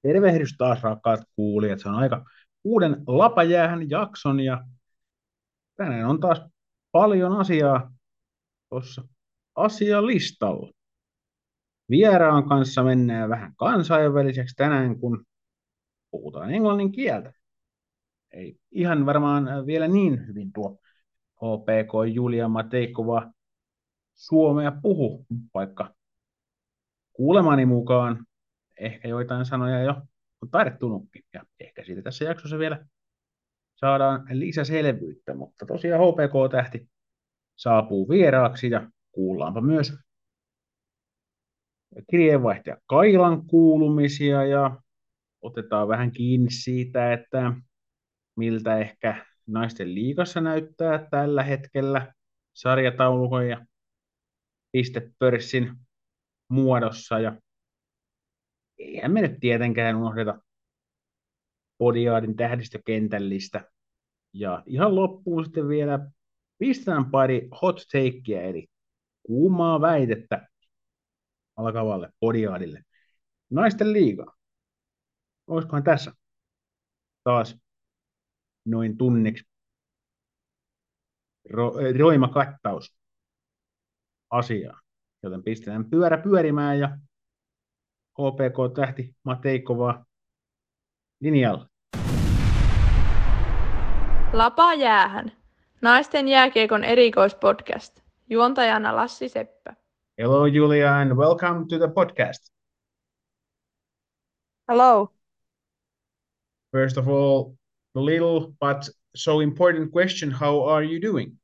Tervehdys taas rakkaat kuulijat. Se on aika uuden Lapajäähän jakson ja tänään on taas paljon asiaa tuossa asialistalla. Vieraan kanssa mennään vähän kansainväliseksi tänään, kun puhutaan englannin kieltä. Ei ihan varmaan vielä niin hyvin tuo HPK Julia Mateikova suomea puhu, vaikka kuulemani mukaan ehkä joitain sanoja jo on taidettunutkin. Ja ehkä siitä tässä jaksossa vielä saadaan lisäselvyyttä, mutta tosiaan HPK-tähti saapuu vieraaksi ja kuullaanpa myös kirjeenvaihtaja Kailan kuulumisia ja otetaan vähän kiinni siitä, että miltä ehkä naisten liigassa näyttää tällä hetkellä sarjataulukon ja pistepörssin muodossa ja eihän me nyt tietenkään unohdeta Podiaadin tähdistökentällistä. Ja ihan loppuun sitten vielä pistetään pari hot takeia, eli kuumaa väitettä alkavalle Podiaadille. Naisten liiga. Olisikohan tässä taas noin tunniksi roima kattaus asiaa. Joten pistetään pyörä pyörimään ja HPK-tähti Mateikova linjalla. Lapa jäähän. Naisten jääkiekon erikoispodcast. Juontajana Lassi Seppä. Hello Julia and welcome to the podcast. Hello. First of all, the little but so important question, how are you doing?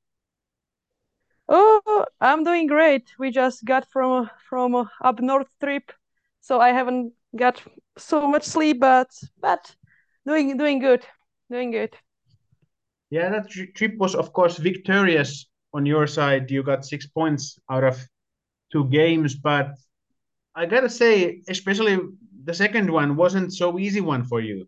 Oh, I'm doing great. We just got from up north trip, so I haven't got so much sleep, but doing good, doing good. Yeah, that trip was of course victorious on your side. You got 6 points out of 2 games, but I gotta say, especially the second one wasn't so easy one for you.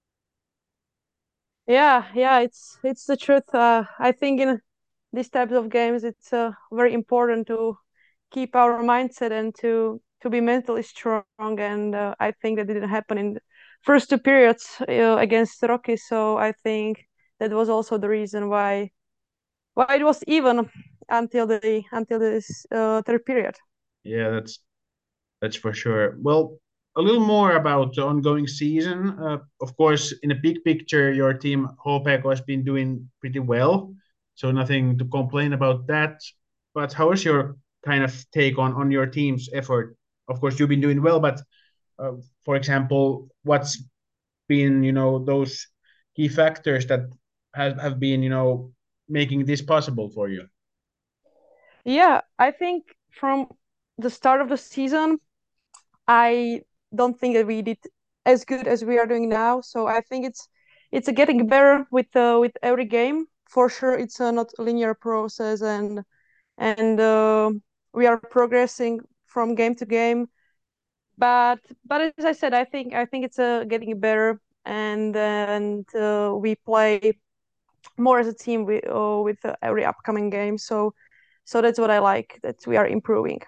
Yeah, it's the truth. I think in these types of games, it's very important to keep our mindset and to be mentally strong. And I think that didn't happen in the first two periods against the Rockies. So I think that was also the reason why it was even until this third period. Yeah, that's for sure. Well, a little more about the ongoing season. Of course, in a big picture, your team HPK has been doing pretty well, so nothing to complain about that. But how is your kind of take on your team's effort? Of course, you've been doing well, but for example, what's been those key factors that have been making this possible for you? Yeah, I think from the start of the season, I don't think that we did as good as we are doing now. So I think it's getting better with every game. For sure, it's not a linear process, and we are progressing from game to game. But as I said, I think it's getting better, and we play more as a team with every upcoming game. So that's what I like, that we are improving.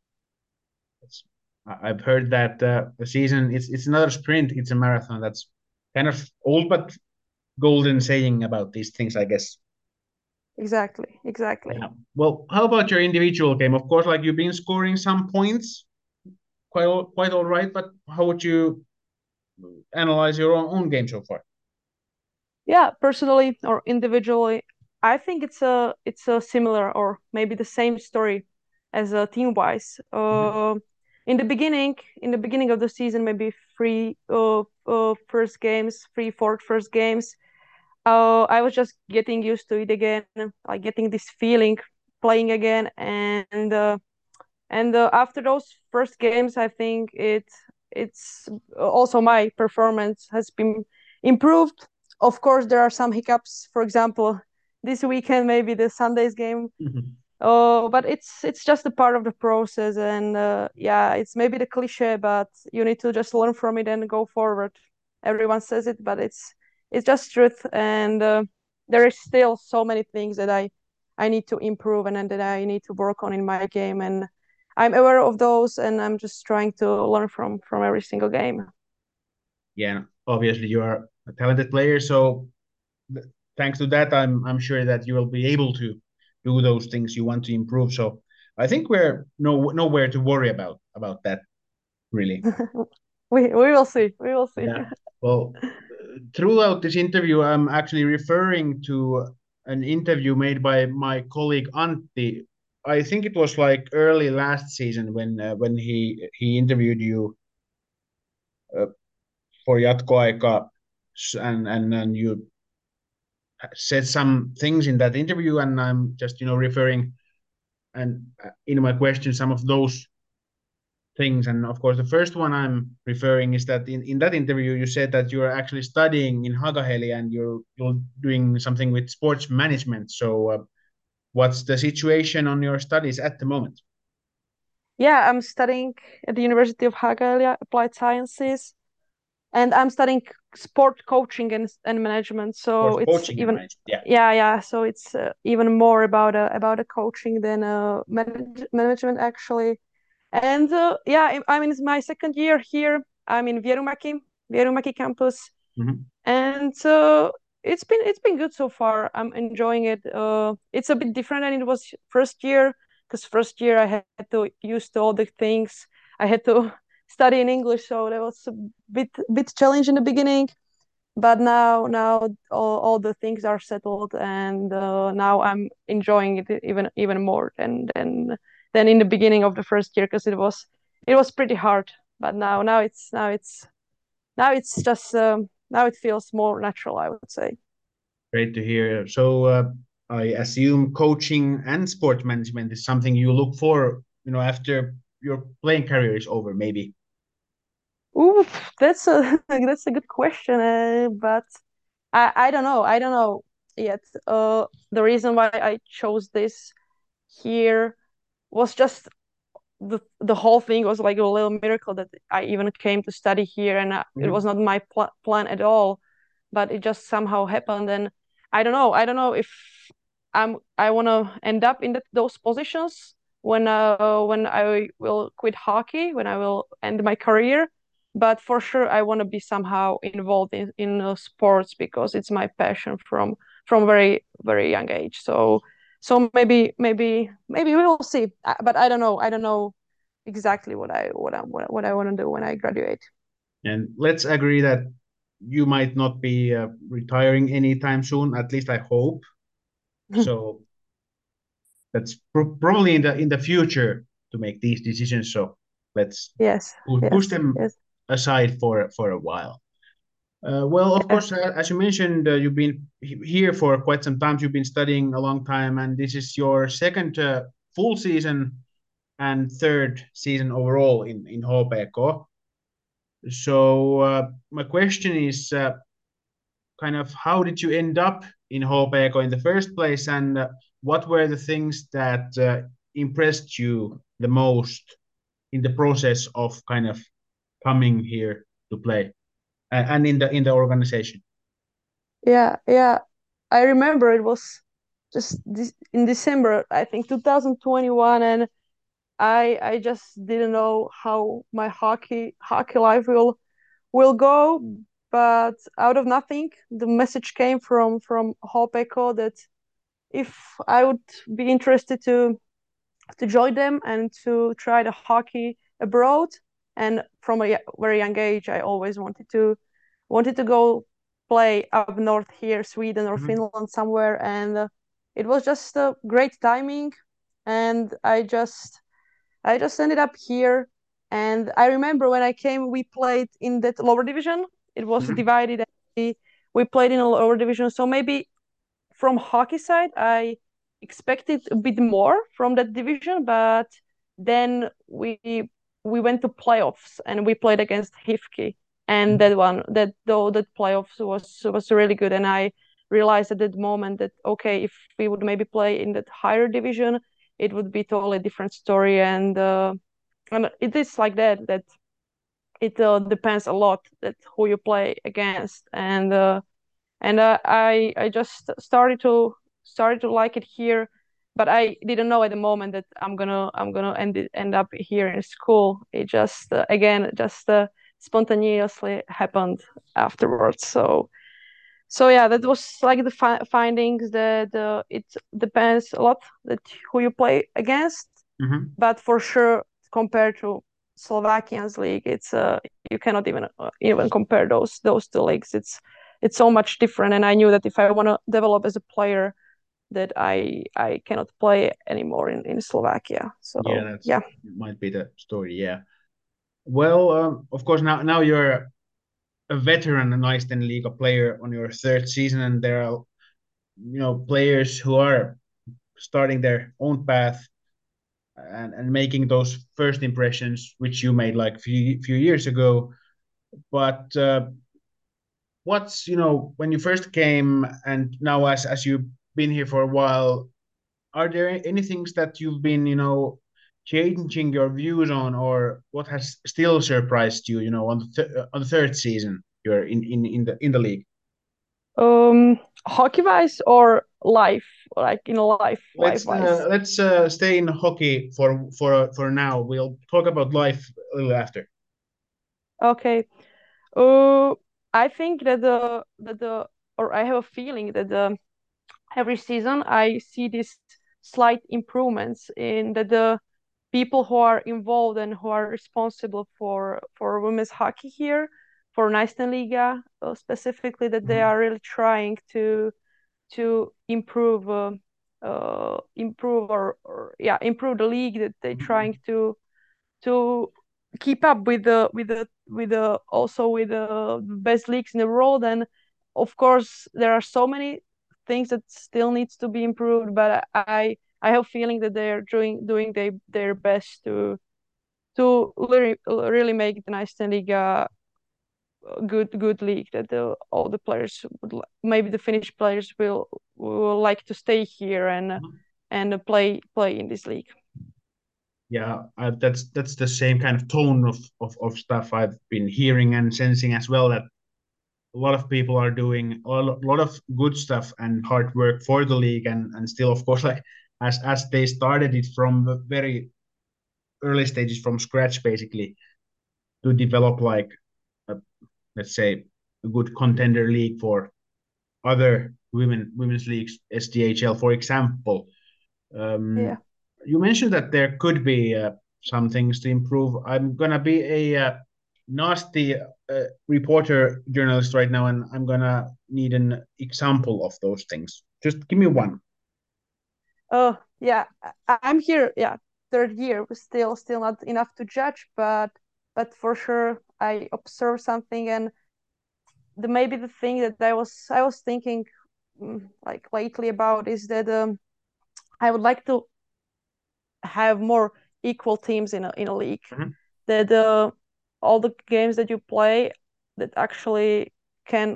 I've heard that the season it's not a sprint, it's a marathon. That's kind of old but golden saying about these things, I guess. Exactly. Yeah. Well, how about your individual game? Of course, like you've been scoring some points, quite all right. But how would you analyze your own game so far? Yeah, personally or individually, I think it's a similar or maybe the same story as team wise. In the beginning of the season, maybe three first games, three fourth first games. I was just getting used to it again, like getting this feeling, playing again, and after those first games, I think it's also my performance has been improved. Of course, there are some hiccups. For example, this weekend, maybe the Sunday's game. But it's just a part of the process, and yeah, it's maybe the cliche, but you need to just learn from it and go forward. Everyone says it, but it's just truth, and there is still so many things that I need to improve and that I need to work on in my game, and I'm aware of those, and I'm just trying to learn from every single game. yeah, obviously you are a talented player, so thanks to that, I'm sure that you will be able to do those things you want to improve. So I think we're nowhere to worry about that really. We will see. We will see. Yeah. Well, throughout this interview, I'm actually referring to an interview made by my colleague Antti. I think it was like early last season when he interviewed you uh, for Jatkoaika, and you said some things in that interview, and I'm just referring and in my question some of those things. And of course, the first one I'm referring is that in that interview, you said that you're actually studying in Hagaheli and you're doing something with sports management. So, what's the situation on your studies at the moment? Yeah, I'm studying at the University of Hagalia Applied Sciences, and I'm studying sport coaching and management. So Sports it's coaching and even management. Yeah. yeah. So it's even more about a coaching than management actually. And yeah, I'm in my second year here. I'm in Vierumäki campus, Mhm. and it's been good so far. I'm enjoying it. It's a bit different than it was first year, because first year I had to use to all the things. I had to study in English, so that was a bit challenge in the beginning. But now all the things are settled, and now I'm enjoying it even more than in the beginning of the first year, because it was pretty hard. But now it's just now it feels more natural, I would say. Great to hear. So, I assume coaching and sport management is something you look for, after your playing career is over, maybe. Ooh, that's a that's a good question, but I don't know. I don't know yet. The reason why I chose this here was just the whole thing was like a little miracle that I even came to study here, and it was Mhm. not my plan at all, but it just somehow happened. And I don't know if I want to end up in those positions when I will quit hockey, when I will end my career. But for sure, I want to be somehow involved in sports, because it's my passion from very young age. So maybe we will see. But I don't know exactly what I want to do when I graduate. And let's agree that you might not be retiring anytime soon. At least I hope. So that's probably in the future to make these decisions. So let's Yes, push yes, them yes. aside for a while. Well, of Yeah. course, as you mentioned, you've been here for quite some time. You've been studying a long time, and this is your second full season and third season overall in HPK. So, my question is, kind of how did you end up in HPK in the first place, and what were the things that impressed you the most in the process of kind of coming here to play and in the organization? Yeah. I remember it was just in December, I think 2021, and I just didn't know how my hockey life will go. But out of nothing, the message came from Hopeko that if I would be interested to join them and to try the hockey abroad. And from a very young age, I always wanted to go play up north here, Sweden or Mhm. Finland somewhere. And it was just a great timing, and I just ended up here. And I remember when I came, we played in that lower division. It was Mhm. divided. We played in a lower division, so maybe from hockey side, I expected a bit more from that division, but then we went to playoffs and we played against Hifki, and Mhm. that playoffs was really good, and I realized at that moment that okay, if we would maybe play in that higher division, it would be totally different story, and it is like that it depends a lot that who you play against, and I just started to like it here, but I didn't know at the moment that I'm gonna end up here in school. It just again just spontaneously happened afterwards. So yeah, that was like the findings. It depends a lot that who you play against, but for sure compared to Slovakian's league, it's you cannot even compare those two leagues. It's so much different, and I knew that if I want to develop as a player, that I cannot play anymore in Slovakia. So yeah, might be the story. Yeah. Well, of course, now you're a veteran Naisten Liiga player on your third season, and there are players who are starting their own path and making those first impressions, which you made like few years ago. But what's when you first came and now as you've been here for a while, are there any things that you've been changing your views on, or what has still surprised you on the third season you're in the league? Hockey wise or life, like in life Let's wise? let's stay in hockey for now. We'll talk about life a little after. Okay. I think that or I have a feeling that every season I see these slight improvements in the people who are involved and who are responsible for women's hockey here, for Naisten specifically, that they are really trying to improve improve the league, that they're trying to keep up with the also with the best leagues in the world. And of course there are so many things that still needs to be improved, but I have a feeling that they're doing their best to really make the Naisten League a good league, that all the players maybe the Finnish players will like to stay here and play in this league. Yeah, that's the same kind of tone of stuff I've been hearing and sensing as well, that a lot of people are doing a lot of good stuff and hard work for the league, and still, of course, like as they started it from the very early stages from scratch, basically, to develop like a, let's say a good contender league for other women's leagues, SDHL, for example. Yeah. You mentioned that there could be some things to improve. I'm gonna be a nasty reporter journalist right now, and I'm gonna need an example of those things. Just give me one. Oh yeah, I'm here. Yeah, third year, still not enough to judge, but for sure I observed something, and maybe the thing that I was thinking like lately about is that I would like to have more equal teams in a league. That all the games that you play that actually can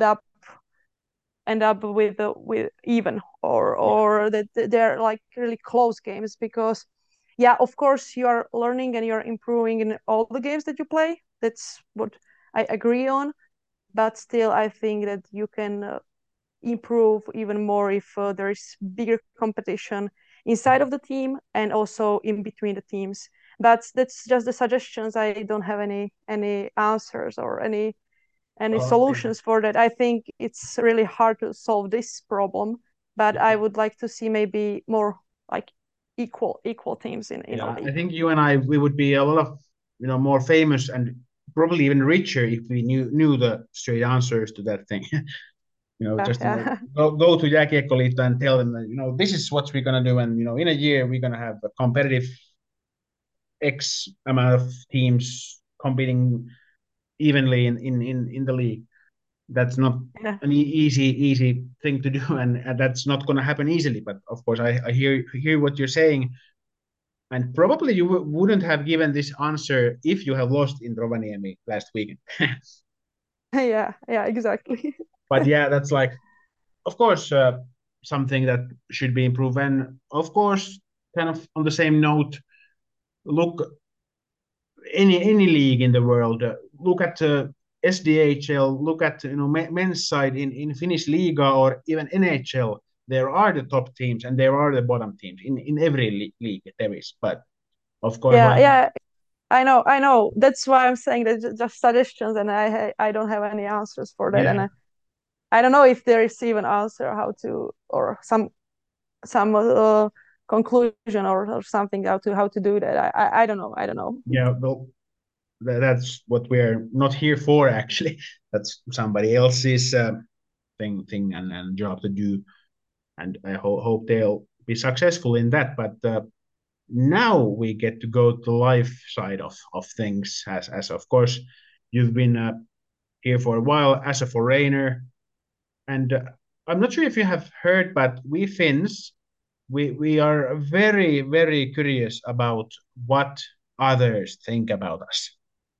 end up with even, or that they're like really close games, because yeah, of course you are learning and you're improving in all the games that you play. That's what I agree on, but still I think that you can improve even more if there is bigger competition inside of the team and also in between the teams. But that's just the suggestions. I don't have any answers or any solutions for that. I think it's really hard to solve this problem, but I would like to see maybe more like equal teams in a league. I think you and we would be a lot of more famous and probably even richer if we knew the straight answers to that thing. Just go to Jääkiekkoliitto and tell them that this is what we're gonna do, and in a year we're gonna have a competitive X amount of teams competing evenly in the league. That's not an easy thing to do, and that's not going to happen easily. But of course, I hear what you're saying, and probably you wouldn't have given this answer if you have lost in Rovaniemi last weekend. Yeah, exactly. But yeah, that's like, of course, something that should be improved. And of course, kind of on the same note, look, any league in the world, look at SDHL, look at men's side in Finnish Liga or even NHL. There are the top teams and there are the bottom teams in every league there is. But of course, Yeah, I know. That's why I'm saying that just suggestions, and I don't have any answers for that, Yeah. and I don't know if there is even answer how to or some conclusion or something how to do that. I don't know. I don't know. Yeah, well, that's what we're not here for, actually. That's somebody else's thing and job to do, and I hope they'll be successful in that. But now we get to go to the life side of things, as of course you've been here for a while as a foreigner, and I'm not sure if you have heard, but we Finns, we are very curious about what others think about us.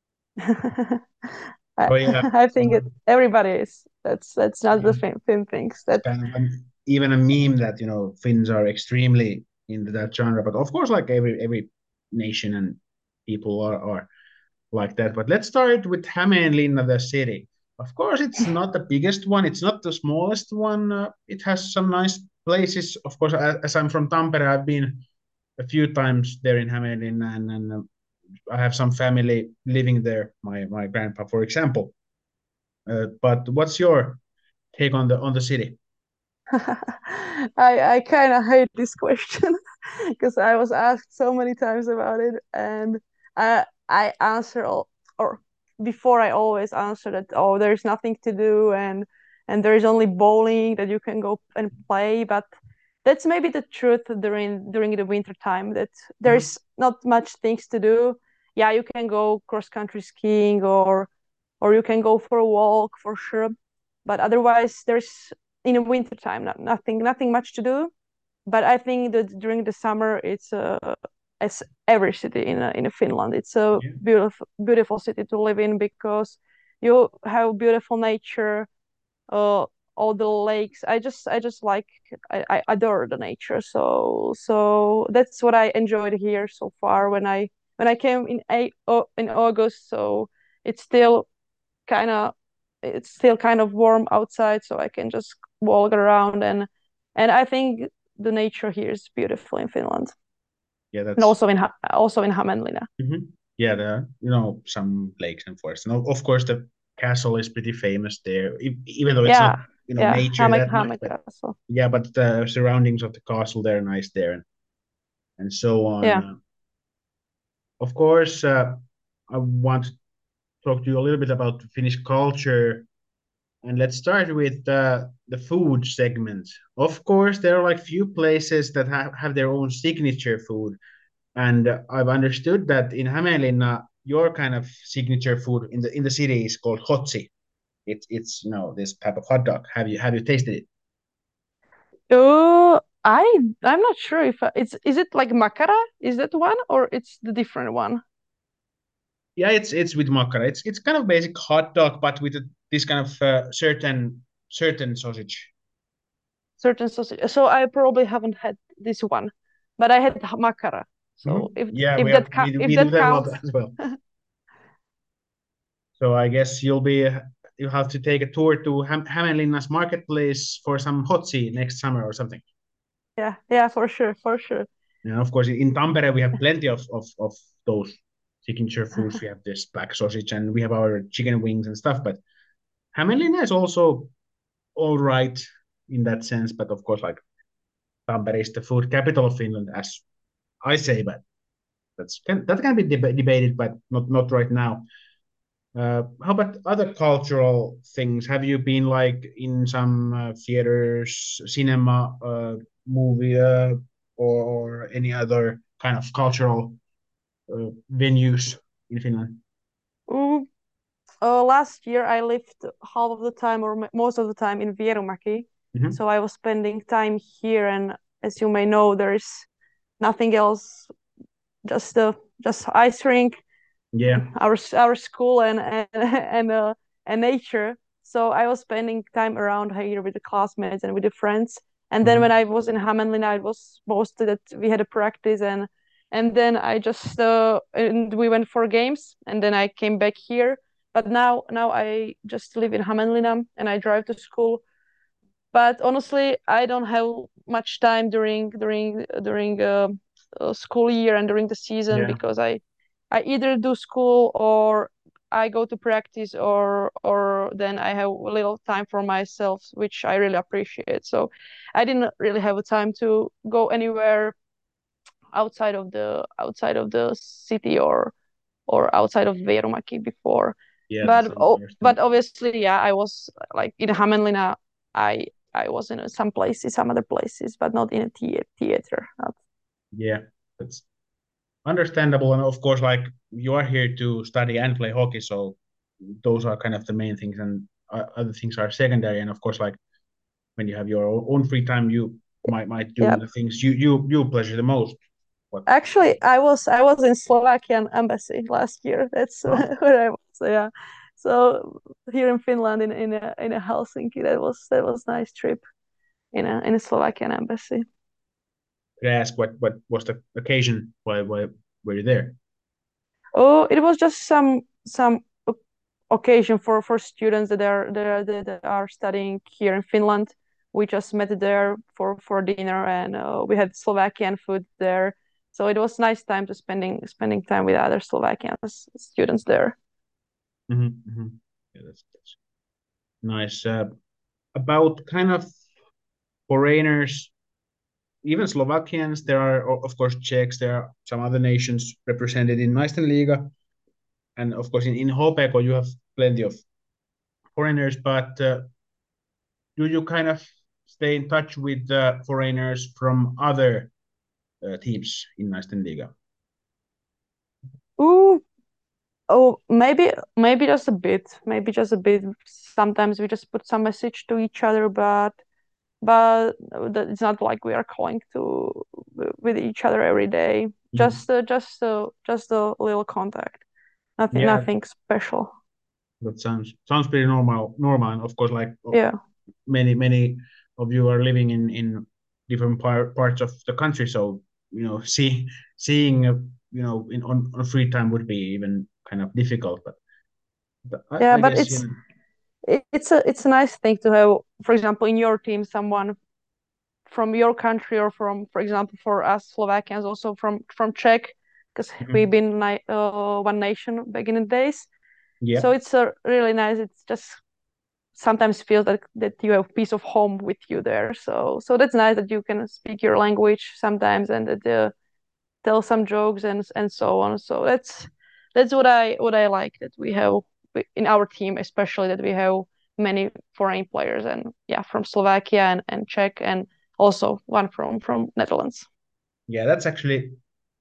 I So yeah, I think everybody is. That's not the yeah, same things. it's That kind of even a meme that Finns are extremely into that genre. But of course, like every nation and people are like that. But let's start with Hämeenlinna, the city. Of course, it's not the biggest one. It's not the smallest one. It has some nice places. Of course, as I'm from Tampere, I've been a few times there in Hämeenlinna, and I have some family living there. My grandpa, for example. But what's your take on the city? I kind of hate this question because I was asked so many times about it, and I answer all, or before I always answer that, oh, there's nothing to do, and there's only bowling that you can go and play. But that's maybe the truth during the winter time, that Mhm. there's not much things to do. Yeah, you can go cross country skiing, or you can go for a walk for sure, but otherwise there's in the winter time nothing much to do. But I think that during the summer it's as every city in Finland, it's a Yeah, beautiful city to live in, because you have beautiful nature, uh, all the lakes. I just like, I adore the nature. So that's what I enjoyed here so far when I came in August. So it's still kind of it's still kind of warm outside, so I can just walk around, and I think the nature here is beautiful in Finland, yeah, and that's also in Hämeenlinna. yeah. There are, some lakes and forests, and of course the castle is pretty famous there, even though it's not Yeah, yeah, nature that much. Häme But Castle. yeah, but the surroundings of the castle, they're nice there, and so on. Yeah. Of course, I want to talk to you a little bit about Finnish culture. And let's start with the food segment. Of course, there are like few places that have their own signature food. And I've understood that in Hämeenlinna, your kind of signature food in the city is called hotzi. It's this type of hot dog. Have you tasted it? uh I'm not sure if is it like makara, is that one, or it's the different one? Yeah, it's with makara. It's kind of basic hot dog, but with this kind of certain sausage. Certain sausage. So I probably haven't had this one, but I had makara. So if Yeah, if we that have we if do that that a lot counts. as well. So I guess you have to take a tour to Hämeenlinna's marketplace for some hotzi next summer or something. Yeah, yeah, for sure, for sure. And of course, in Tampere we have plenty of those signature foods. We have this black sausage and we have our chicken wings and stuff. But Hämeenlinna is also all right in that sense. But of course, like Tampere is the food capital of Finland, as I say. But that can be debated, but not right now. How about other cultural things? Have you been like in some theaters, cinema, movie, or any other kind of cultural venues in Finland? Ooh, last year I lived half of the time, or most of the time, in Vierumäki. Hmm. So I was spending time here, and as you may know, there is nothing else, just ice rink, Yeah. our school, and nature. So I was spending time around here with the classmates and with the friends. And then when Hmm. I was in Hämeenlinna, it was mostly that we had a practice, and then I just and we went for games, and then I came back here. But now I just live in Hämeenlinna and I drive to school. But honestly, I don't have much time during school year and during the season, Yeah. because I either do school or I go to practice, or then I have a little time for myself, which I really appreciate. So I didn't really have a time to go anywhere outside of the city or outside of Vierumäki before. Yeah, that's But understandable. obviously, yeah, I was like in Hämeenlinna. I was in some places, some other places, but not in a theater. Not... Yeah, that's understandable. And of course, like you are here to study and play hockey, so those are kind of the main things, and other things are secondary. And of course, like when you have your own free time, you might do Yeah. the things you pleasure the most. What? Actually, I was in Slovakian embassy last year. That's Oh, where I was. So, yeah. So here in Finland, in a Helsinki, that was nice trip in a Slovakian embassy. could I ask what was the occasion? Why were you there? Oh, it was just some occasion for students that are studying here in Finland. We just met there for dinner, and we had Slovakian food there. So it was nice time to spending time with other Slovakian students there. Mm-hmm. Yeah, that's nice. About kind of foreigners, even Slovakians. There are of course Czechs. There are some other nations represented in Meistenliga, and of course in Hopeko you have plenty of foreigners. But do you kind of stay in touch with foreigners from other teams in Meistenliga? Ooh, oh, maybe just a bit. Maybe just a bit. Sometimes we just put some message to each other, but it's not like we are calling to with each other every day. Mhm. Just a little contact. Yeah, Nothing special. that sounds pretty normal, and of course, like Yeah. many of you are living in different parts of the country, so seeing on free time would be even kind of difficult. But Yeah, I but guess it's a nice thing to have, for example, in your team, someone from your country, or from, for example, for us Slovakians, also from Czech, because we've Mhm. been one nation back in the days. Yeah, So it's really nice. It's just sometimes feels that you have a piece of home with you there. So that's nice that you can speak your language sometimes, and that tell some jokes and so on. So that's what I like, that we have in our team, especially that we have many foreign players, and yeah, from Slovakia and Czech, and also one from Netherlands. yeah, that's actually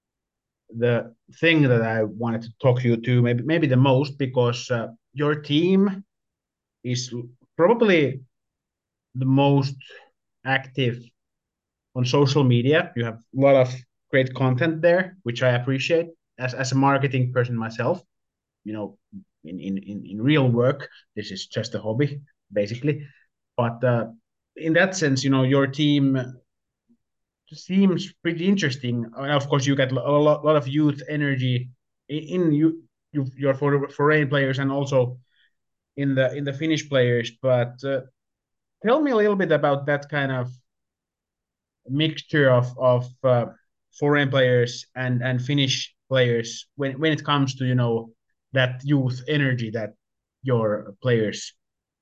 the thing that I wanted to talk you to maybe the most because your team is probably the most active on social media. You have a lot of great content there, which I appreciate as a marketing person myself. You know, in real work, this is just a hobby, basically. But in that sense, your team seems pretty interesting. Of course, you get lot of youth energy in your foreign players and also in the Finnish players. But tell me a little bit about that kind of mixture of foreign players and Finnish players when it comes to that youth energy that your players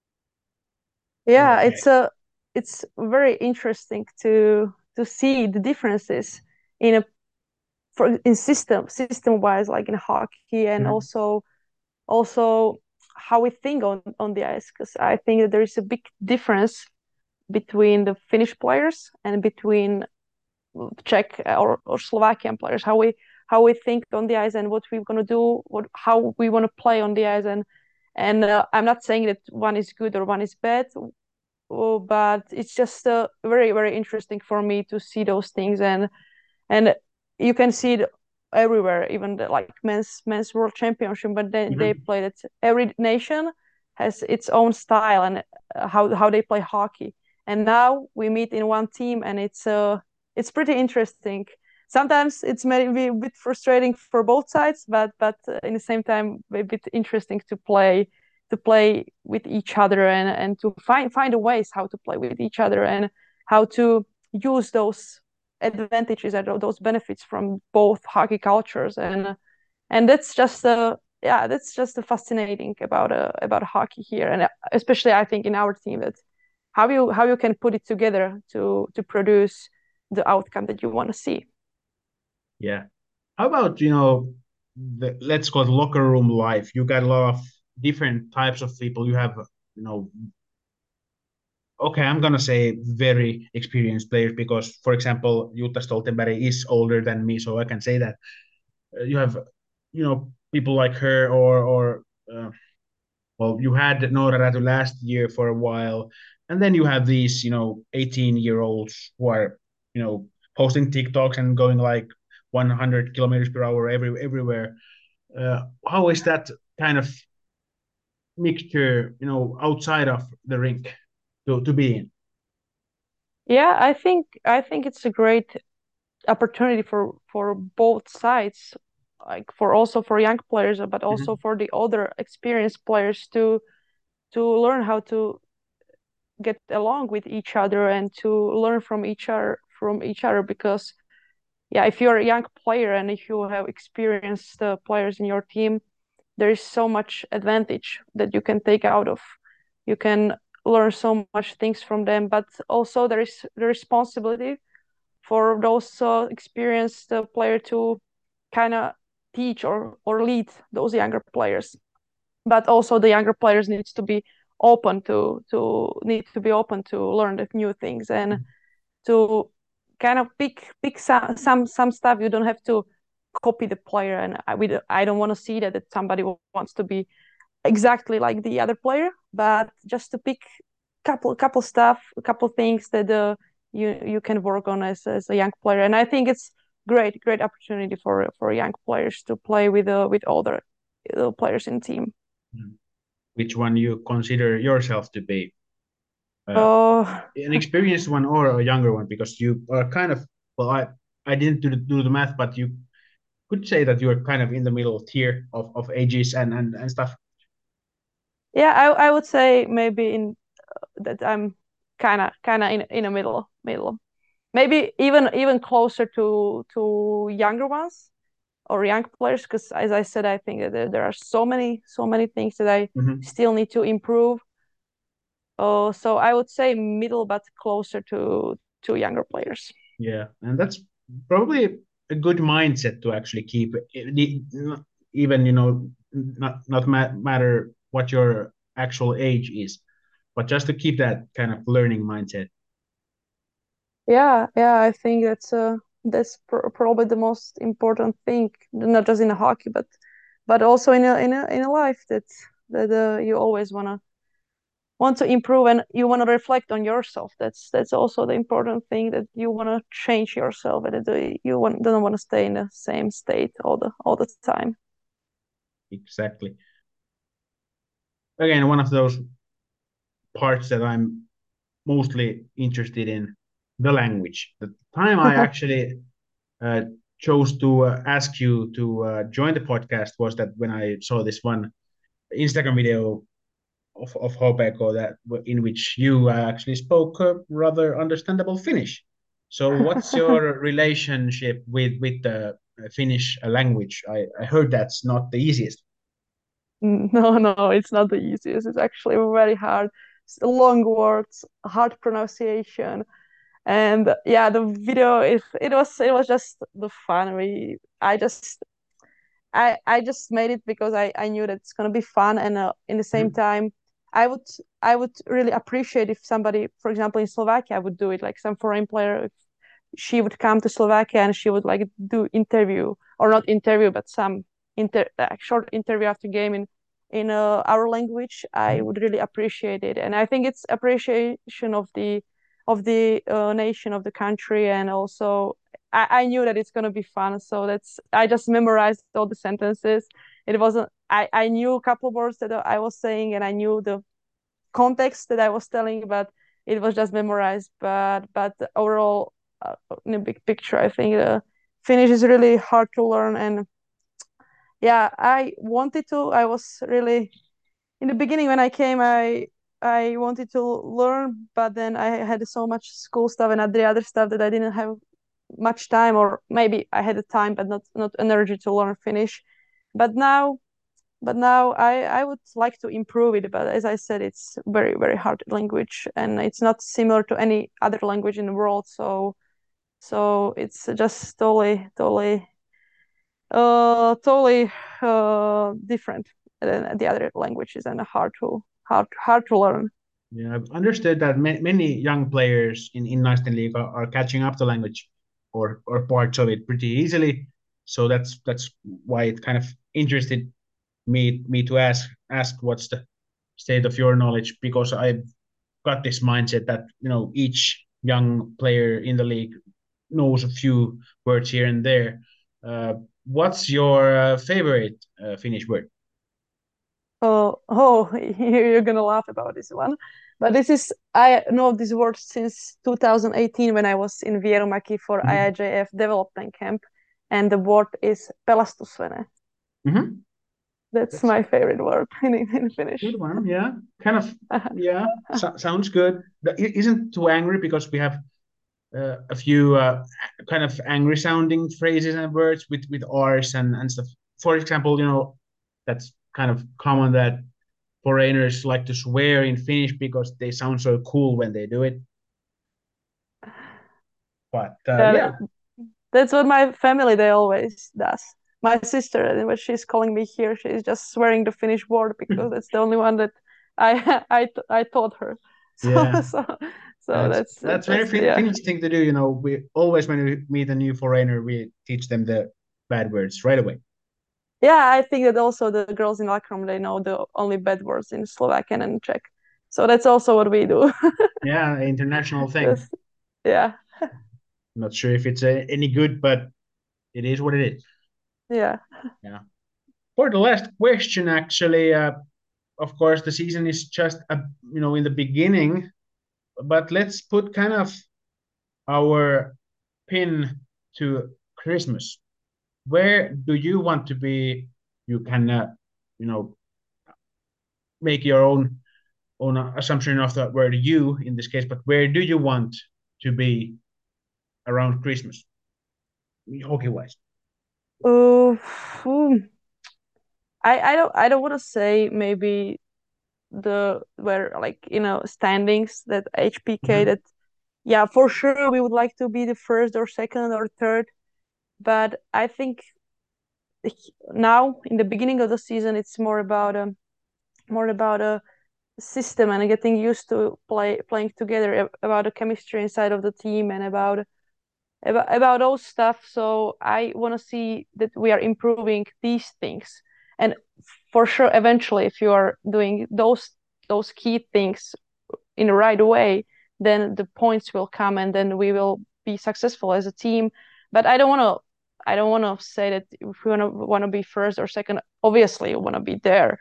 Yeah, portray. it's very interesting to see the differences in a in system wise, like in hockey, and Mhm. also how we think on the ice, because I think that there is a big difference between the Finnish players and between Czech or Slovakian players, how we think on the ice, and what we're going to do, how we want to play on the ice. And I'm not saying that one is good or one is bad. But it's just very very interesting for me to see those things. And you can see it everywhere, even like men's world championship, but then they Mhm. play that every nation has its own style, and how they play hockey. And now we meet in one team, and it's pretty interesting. Sometimes it's maybe a bit frustrating for both sides, but in the same time a bit interesting to play with each other, and to find a ways how to play with each other, and how to use those advantages and those benefits from both hockey cultures. and that's just the fascinating about hockey here, and especially I think in our team, that how you can put it together to produce the outcome that you want to see. Yeah. How about, let's call it locker room life? You got a lot of different types of people. You have, okay, I'm gonna say very experienced players because, for example, Jutta Stoltenberg is older than me, so I can say that. You have, people like her, or well, you had Noora Räty last year for a while, and then you have these, 18-year-olds who are, posting TikToks and going like 100 kilometers per hour everywhere. How is that kind of mixture, outside of the rink to be in? Yeah, I think it's a great opportunity for both sides, like for young players, but also Mhm. for the older experienced players to learn how to get along with each other and to learn from each other because yeah, if you're a young player and if you have experienced players in your team, there is so much advantage that you can take out of. You can learn so much things from them, but also there is the responsibility for those experienced player to kind of teach or lead those younger players. But also the younger players need to be open to learn the new things and to kind of pick some stuff. You don't have to copy the player, and I don't want to see that somebody wants to be exactly like the other player, but just to pick couple stuff, a couple things that you can work on as a young player. And I think it's great opportunity for young players to play with older players in team. Which one you consider yourself to be? Oh, An experienced one or a younger one? Because you are kind of, well, I didn't do the math, but you could say that you're kind of in the middle tier of ages and stuff. yeah, I would say maybe in that I'm kind of in the middle, maybe even closer to younger ones or young players, because as I said, I think that there are so many things that I Mhm. still need to improve. So I would say middle, but closer to younger players. Yeah, and that's probably a good mindset to actually keep, even, not matter what your actual age is, but just to keep that kind of learning mindset. Yeah, I think probably the most important thing, not just in hockey, but also in a life, that you always want to improve and you want to reflect on yourself. That's also the important thing, that you want to change yourself and that don't want to stay in the same state all the time. Exactly. Again, one of those parts that I'm mostly interested in, the language. The time I actually uh, chose to ask you to join the podcast was that when I saw this one Instagram video of Hopeko, that in which you actually spoke rather understandable Finnish. So, what's your relationship with the Finnish language? I heard that's not the easiest. No, it's not the easiest. It's actually very hard. Long words, hard pronunciation, and yeah, the video it was just the fun. I just made it because I knew that it's gonna be fun, and in the same Mhm. time, I would I would really appreciate if somebody, for example, in Slovakia, would do it, like some foreign player. If she would come to Slovakia and she would like do interview, or not interview, but some short interview after game in our language, I would really appreciate it. And I think it's appreciation of the nation, of the country, and also I knew that it's gonna be fun, so I just memorized all the sentences. It wasn't I knew a couple words that I was saying, and I knew the context that I was telling, but it was just memorized. But overall, in a big picture, I think Finnish is really hard to learn, and yeah, I wanted to. I was really in the beginning when I came, I wanted to learn, but then I had so much school stuff and the other stuff that I didn't have much time, or maybe I had the time but not energy to learn Finnish. But now I would like to improve it. But as I said, it's very, very hard language, and it's not similar to any other language in the world. So it's just totally different than the other languages and hard to learn. Yeah, I've understood that many young players in Naisten League are catching up the language or parts of it pretty easily. So that's why it kind of interested me to ask what's the state of your knowledge, because I've got this mindset that each young player in the league knows a few words here and there. What's your favorite Finnish word? Oh, you're gonna laugh about this one. But I know this word since 2018 when I was in Vierumäki for Mhm. IIJF development camp, and the word is pelastusvene. Mhm. That's That's my favorite word in Finnish. good one. Yeah, kind of. Yeah, sounds good. Isn't too angry because we have a few kind of angry sounding phrases and words with R's and stuff. For example, that's kind of common that foreigners like to swear in Finnish because they sound so cool when they do it. But Yeah, yeah, that's what my family they always does. My sister, and when she's calling me here, she's just swearing the Finnish word because that's the only one that I taught her. So yeah, so so that's that's that's very that's yeah. Finnish thing to do. We always when we meet a new foreigner, we teach them the bad words right away. Yeah, I think that also the girls in locker room they know the only bad words in Slovakian and Czech. So that's also what we do. Yeah, international thing. Just yeah, Not sure if it's any good, but it is what it is. yeah. Yeah. For the last question, actually, of course, the season is just in the beginning, but let's put kind of our pin to Christmas. Where do you want to be? You can, you know, make your own assumption of the word "you" in this case, but where do you want to be around Christmas, hockey wise? Uh, hmm. I don't want to say maybe the where like standings that HPK Mhm. that yeah for sure we would like to be the first or second or third, but I think now in the beginning of the season it's more about a system and getting used to playing together, about the chemistry inside of the team and about those stuff. So I want to see that we are improving these things, and for sure eventually if you are doing those key things in the right way, then the points will come and then we will be successful as a team. But I don't want to say that if we want to be first or second. Obviously, you want to be there,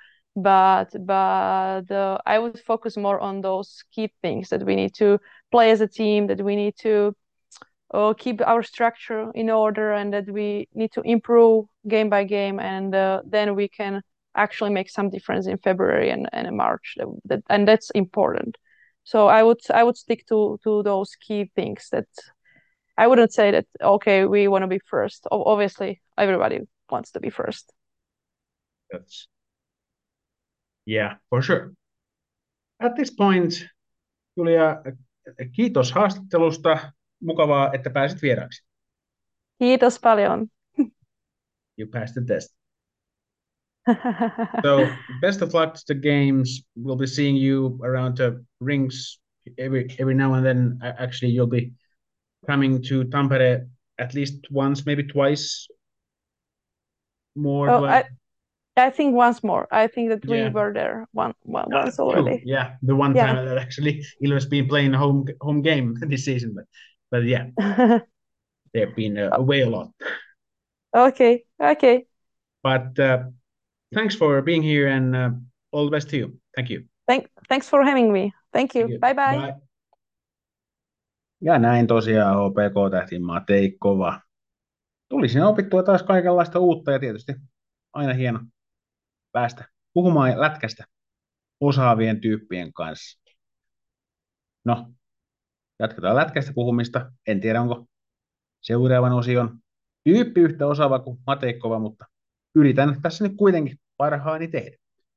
but I would focus more on those key things that we need to play as a team, that we need to keep our structure in order, and that we need to improve game by game, and then we can actually make some difference in February and in March. And that's important. So I would stick to those key things. That I wouldn't say that okay we want to be first. Obviously, everybody wants to be first. That's yeah, for sure. At this point, Julia, kiitos haastattelusta. Mukavaa, että pääsit vieraaksi. Kiitos paljon. You passed the test. So best of luck to the games. We'll be seeing you around the rinks every now and then. Actually, you'll be coming to Tampere at least once, maybe twice more. Oh, But I think once more. I think that we yeah, were there once true. already. Yeah, the one Yeah. time that actually Ilves been playing a home game this season, but yeah, they've been away a lot. Okay. Okay. But thanks for being here and all the best to you. Thank you. Thanks for having me. Thank Thank you. you. Bye bye. Bye. Ja näin tosiaan HPK-tähti Matei Kova. Tuli siinä opittua taas kaikenlaista uutta ja tietysti aina hieno päästä puhumaan lätkästä osaavien tyyppien kanssa. No, jatketaan lätkästä puhumista. En tiedä, onko seuraavan osion tyyppi yhtä osaava kuin Matei Kova, mutta yritän tässä nyt kuitenkin parhaani tehdä.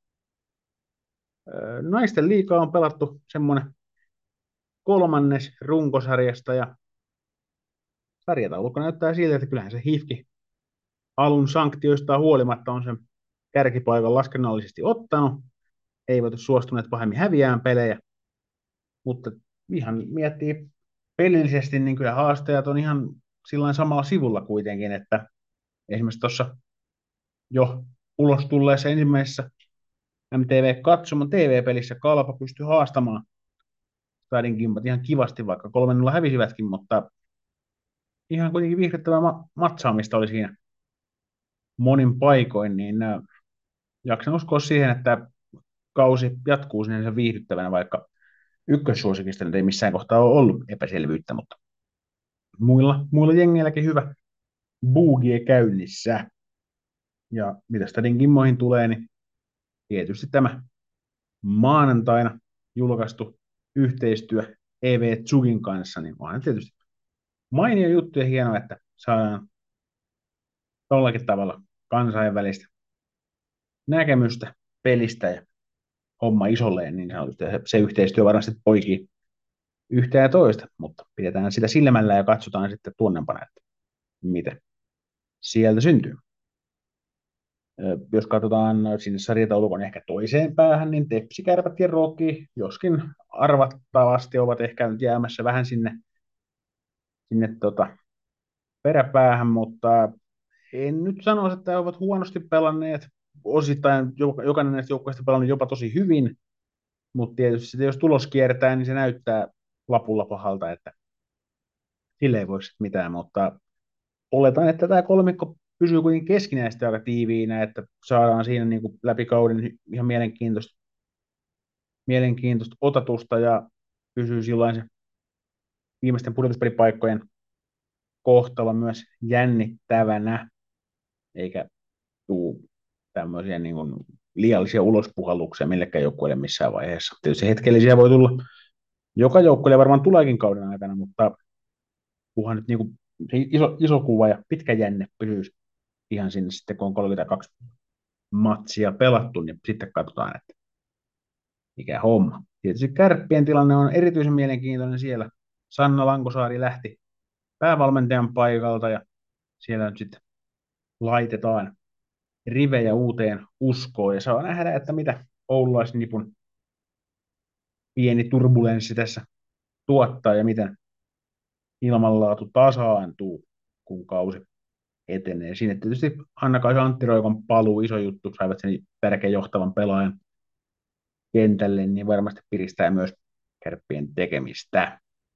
Naisten liigaa on pelattu semmoinen kolmannes runkosarjasta ja sarjataulukko näyttää siltä, että kyllähän se HIFK alun sanktioista huolimatta on sen kärkipaikan laskennallisesti ottanut. Eivät ole suostuneet pahemmin häviään pelejä, mutta ihan miettii pelillisesti, niin kyllä haastajat on ihan sillain samalla sivulla kuitenkin, että esimerkiksi tuossa jo ulos tulleessa ensimmäisessä MTV-katsomon TV-pelissä Kalpa pystyi haastamaan Stadin Kimpat ihan kivasti, vaikka 3-0 hävisivätkin, mutta ihan kuitenkin viihdyttävää matsaamista oli siinä monin paikoin, niin jaksan uskoa siihen, että kausi jatkuu sinne viihdyttävänä, vaikka ykkössuosikista nyt ei missään kohtaa ole ollut epäselvyyttä, mutta muilla jengeilläkin hyvä buugie käynnissä. Ja mitä Stadin Kimmoihin tulee, niin tietysti tämä maanantaina julkaistu yhteistyö EV Zugin kanssa, niin onhan tietysti mainio juttu ja hienoa, että saadaan tollakin tavalla kansainvälistä näkemystä pelistä ja homma isolleen, niin sanotusti. Se yhteistyö varmasti poikii yhtä ja toista, mutta pidetään sitä silmällä ja katsotaan sitten tuonnempana, että mitä sieltä syntyy. Jos katsotaan sinne sarjataulukon ehkä toiseen päähän, niin Tepsi, Kärpät ja Roki, joskin arvattavasti ovat ehkä nyt jäämässä vähän sinne peräpäähän, mutta en nyt sanoisi, että he ovat huonosti pelanneet. Osittain jokainen näistä joukkueista pelannut jopa tosi hyvin, mutta tietysti jos tulos kiertää, niin se näyttää lapulla pahalta, että sille ei voi mitään, mutta oletan, että tämä kolmikko pysyy kuitenkin keskinäisesti aika tiiviinä, että saadaan siinä niin kuin läpi kauden ihan mielenkiintoista otatusta ja pysyy silloin se viimeisten pudotuspelipaikkojen kohtalo myös jännittävänä, eikä tuu tämmöisiä niin kuin liiallisia ulospuhalluksia millekään joukkueelle missään vaiheessa. Tietysti hetkellisiä voi tulla, joka joukkueelle varmaan tuleekin kauden aikana, mutta kunhan nyt niin kuin iso kuva ja pitkä jänne pysyisi ihan sinne sitten, kun on 32 matsia pelattu, niin sitten katsotaan, että mikä homma. Tietysti Kärppien tilanne on erityisen mielenkiintoinen siellä. Sanna Lankosaari lähti päävalmentajan paikalta ja siellä nyt sitten laitetaan rivejä uuteen uskoon ja saa nähdä, että mitä oululaisnipun pieni turbulenssi tässä tuottaa ja miten ilmanlaatu tasaantuu, kun kausi etenee. Siinä tietysti Hanna-Kaisa Antti-Roikon paluu, iso juttu, saivat sen tärkeän johtavan pelaajan kentälle, niin varmasti piristää myös Kärppien tekemistä.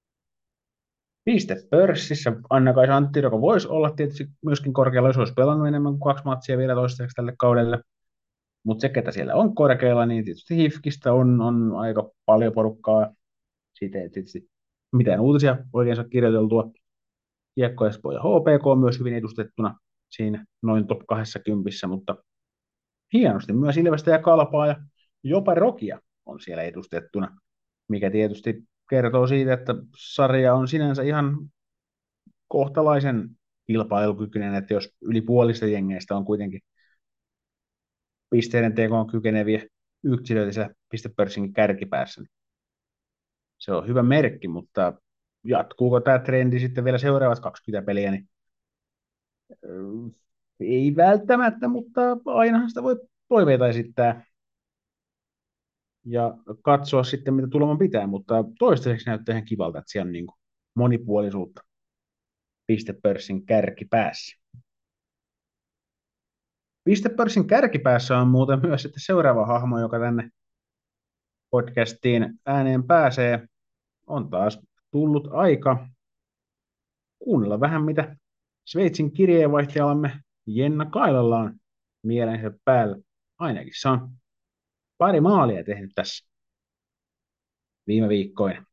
Pistepörssissä Anna-Kaisa Antti-Roiko voisi olla tietysti myöskin korkealla, jos olisi pelannut enemmän kuin 2 matsia vielä toistaiseksi tälle kaudelle. Mutta se, ketä siellä on korkealla, niin tietysti HIFKistä on aika paljon porukkaa. Siitä ei tietysti mitään uutisia oikein saa kirjoiteltua. Kiekko Espoo ja HPK on myös hyvin edustettuna siinä noin top 20, mutta hienosti myös Ilvestä ja Kalpaa ja jopa Rokia on siellä edustettuna, mikä tietysti kertoo siitä, että sarja on sinänsä ihan kohtalaisen kilpailukykyinen, että jos yli puolista jengeistä on kuitenkin pisteiden tekoon kykeneviä yksilöitä siellä pistepörssin kärkipäässä, niin se on hyvä merkki, mutta jatkuuko tämä trendi sitten vielä seuraavat 20 peliä, niin ei välttämättä, mutta ainahan sitä voi toiveita esittää ja katsoa sitten, mitä tuleman pitää, mutta toistaiseksi näyttää ihan kivalta, että siellä on niin kuin monipuolisuutta pistepörssin kärkipäässä. Pistepörssin kärkipäässä on muuten myös sitten seuraava hahmo, joka tänne podcastiin ääneen pääsee. On taas tullut aika kuunnella vähän, mitä Sveitsin kirjeenvaihtajallamme Jenna Kailalla on mielensä päällä. Ainakin se on pari maalia tehnyt tässä viime viikkoina.